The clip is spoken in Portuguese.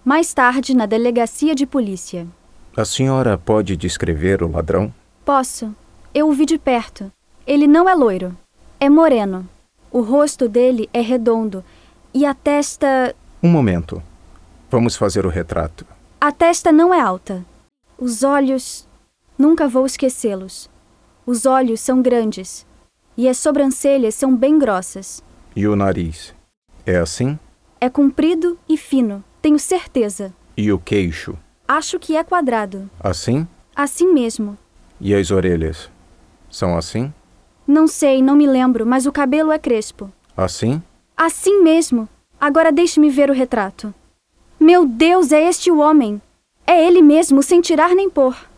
Mais tarde, na delegacia de polícia. A senhora pode descrever o ladrão? Posso. Eu o vi de perto. Ele não é loiro. É moreno. O rosto dele é redondo. E a testa... Um momento. Vamos fazer o retrato. A testa não é alta. Os olhos... Nunca vou esquecê-los. Os olhos são grandes. E as sobrancelhas são bem grossas. E o nariz? É assim? É comprido e fino, tenho certeza. E o queixo? Acho que é quadrado. Assim? Assim mesmo. E as orelhas? São assim? Não sei, não me lembro, mas o cabelo é crespo. Assim? Assim mesmo. Agora deixe-me ver o retrato. Meu Deus, é este o homem. É ele mesmo, sem tirar nem pôr.